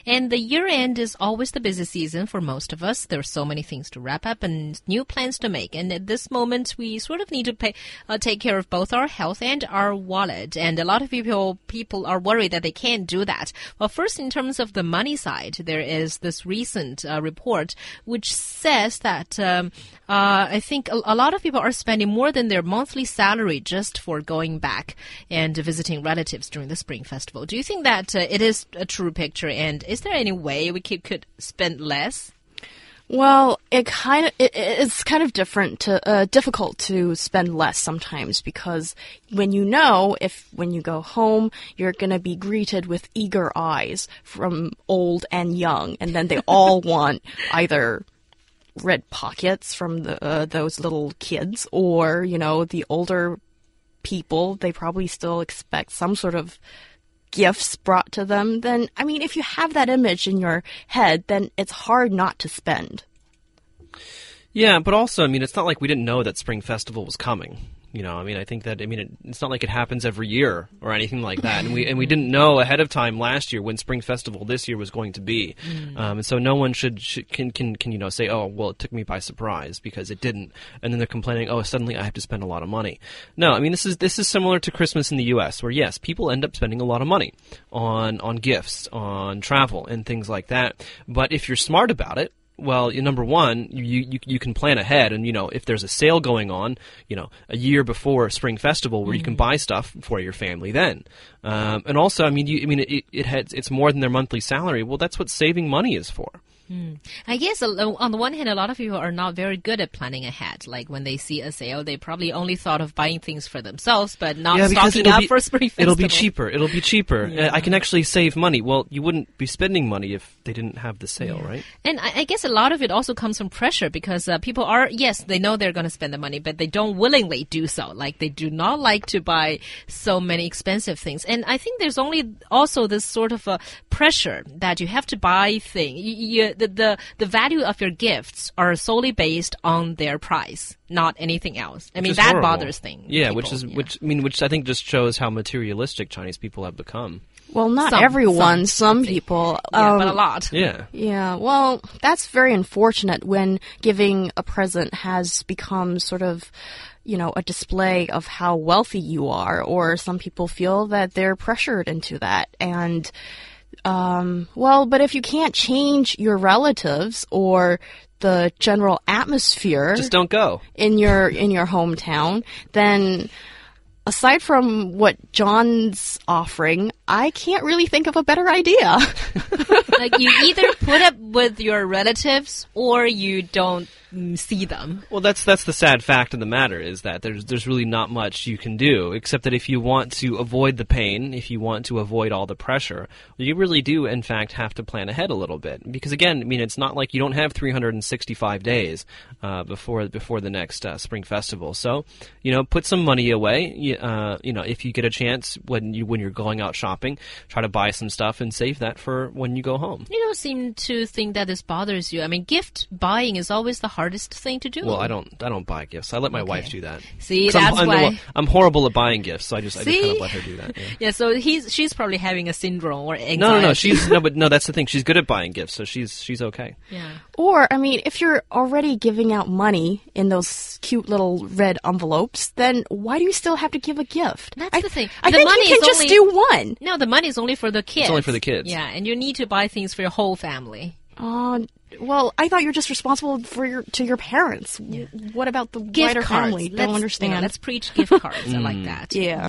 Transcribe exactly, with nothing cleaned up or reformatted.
And the year end is always the busy season for most of us. There are so many things to wrap up and new plans to make. And at this moment, we sort of need to pay, uh, take care of both our health and our wallet. And a lot of people people are worried that they can't do that. Well, first, in terms of the money side, there is this recent uh, report which says that um, uh, I think a, a lot of people are spending more than their monthly salary just for going back and visiting relatives during the Spring Festival. Do you think that uh, it is a true picture? And is there any way we could, could spend less? Well, it kind of it, it's kind of different to uh, difficult to spend less sometimes, because when you know if when you go home you're going to be greeted with eager eyes from old and young, and then they all want either red pockets from the, uh, those little kids, or you know the older people, they probably still expect some sort of gifts brought to them. Then, I mean, if you have that image in your head, then it's hard not to spend. Yeah, but also, I mean, it's not like we didn't know that Spring Festival was coming. You know, I mean, I think that, I mean, it, it's not like it happens every year or anything like that. And we and we didn't know ahead of time last year when Spring Festival this year was going to be. Mm. Um, and so no one should, should can, can, can, you know, say, oh, well, it took me by surprise because it didn't. And then they're complaining, oh, suddenly I have to spend a lot of money. No, I mean, this is this is similar to Christmas in the U S, where, yes, people end up spending a lot of money on on gifts, on travel, and things like that. But if you're smart about it, well, number one, you, you you can plan ahead, and you know if there's a sale going on, you know, a year before Spring Festival, where mm. you can buy stuff for your family then, um, and also, I mean, you, I mean, it, it has, it's more than their monthly salary. Well, that's what saving money is for. Mm. I guess on the one hand, a lot of people are not very good at planning ahead. Like when they see a sale, they probably only thought of buying things for themselves, but not yeah, stocking up be, for Spring Festival. It'll be cheaper. It'll be cheaper. Yeah. I can actually save money. Well, you wouldn't be spending money if they didn't have the sale, yeah. right? And I, I guess a lot of it also comes from pressure, because uh, people are, yes, they know they're going to spend the money, but they don't willingly do so. Like they do not like to buy so many expensive things. And I think there's only also this sort of a pressure that you have to buy things. You, you, the, the, the value of your gifts are solely based on their price, not anything else. I which mean, that horrible. bothers things. Yeah, people. which is yeah. which I mean, which I think just shows how materialistic Chinese people have become. Well, not some, everyone. Some, some people. Yeah, um, but a lot. Yeah. Yeah. Well, that's very unfortunate when giving a present has become sort of, you know, a display of how wealthy you are, or some people feel that they're pressured into that. And Um, well, but if you can't change your relatives or the general atmosphere, just don't go in your in your hometown, then aside from what John's offering, I can't really think of a better idea. Like you either put up with your relatives or you don't see them. Well, that's that's the sad fact of the matter, is that there's there's really not much you can do, except that if you want to avoid the pain, if you want to avoid all the pressure, you really do, in fact, have to plan ahead a little bit. Because again, I mean, it's not like you don't have three hundred sixty-five days uh, before before the next uh, Spring Festival. So, you know, put some money away. You, uh, you know, if you get a chance when you when you're going out shopping, try to buy some stuff and save that for when you go home. You don't seem to think that this bothers you. I mean, gift buying is always the hardest thing to do. Well, I don't. I don't buy gifts. I let my okay. wife do that. See, that's I'm, why I'm, I'm horrible at buying gifts, so I just, I just See? kind of let her do that. Yeah. Yeah, so he's she's probably having a syndrome or anxiety. No, no, no. She's no, but no. That's the thing. She's good at buying gifts, so she's she's okay. Yeah. Or, I mean, if you're already giving out money in those cute little red envelopes, then why do you still have to give a gift? That's I, the thing. I the think money you can is just only, do one. No, the money is only for the kids. It's only for the kids. Yeah, and you need to buy things for your whole family. Uh, well, I thought you were just responsible for your to your parents. Yeah. What about the Gift wider cards. family? Let's, Don't understand. You know, let's preach gift cards. I like that. Yeah.